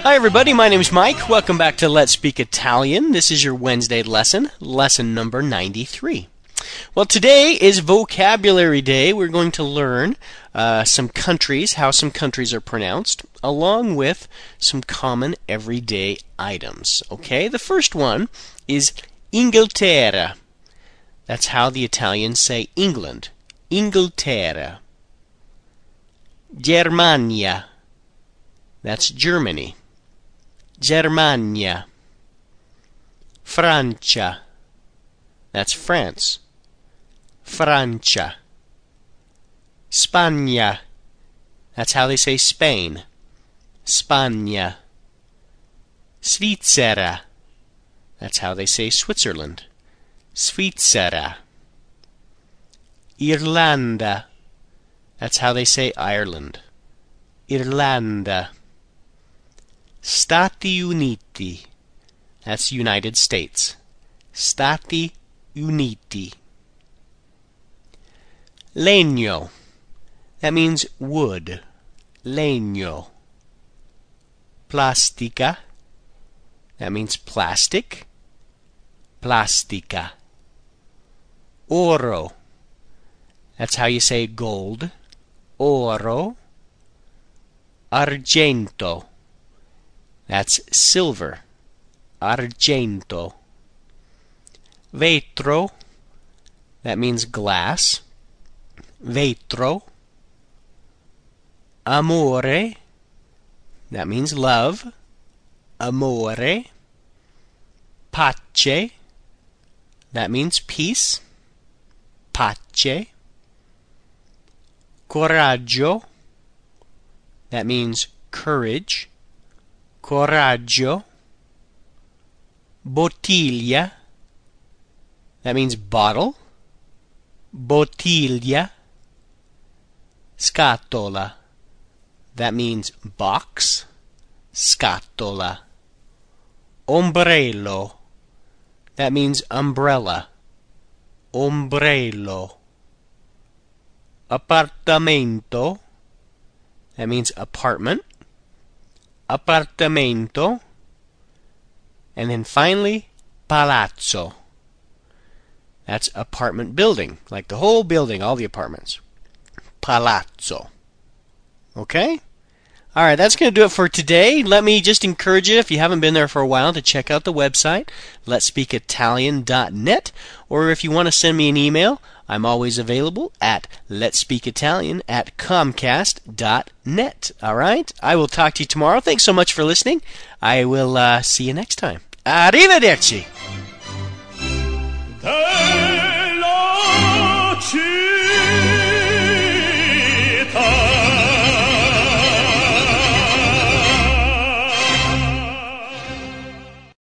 Hi everybody, my name is Mike. Welcome back to Let's Speak Italian. This is your Wednesday lesson number 93. Well, today is Vocabulary Day. We're going to learn some countries, how some countries are pronounced, along with some common everyday items. Okay, the first one is Inghilterra. That's how the Italians say England. Inghilterra. Germania. That's Germany. Germania. Francia. That's France. Francia. Spagna. That's how they say Spain. Spagna. Svizzera. That's how they say Switzerland. Svizzera. Irlanda. That's how they say Ireland. Irlanda. Stati Uniti. That's United States. Stati Uniti. Legno. That means wood. Legno. Plastica. That means plastic. Plastica. Oro. That's how you say gold. Oro. Argento. That's silver. Argento. Vetro. That means glass. Vetro. Amore. That means love. Amore. Pace. That means peace. Pace. Coraggio. That means courage. Coraggio. Bottiglia. That means bottle. Bottiglia. Scatola. That means box. Scatola. Ombrello. That means umbrella. Ombrello. Appartamento. That means apartment. Appartamento. And then finally, palazzo. That's apartment building, like the whole building, all the apartments. Palazzo. Okay? Alright, that's going to do it for today. Let me just encourage you, if you haven't been there for a while, to check out the website, letspeakitalian.net, or if you want to send me an email, I'm always available at letspeakitalian@comcast.net. Alright? I will talk to you tomorrow. Thanks so much for listening. I will see you next time. Arrivederci!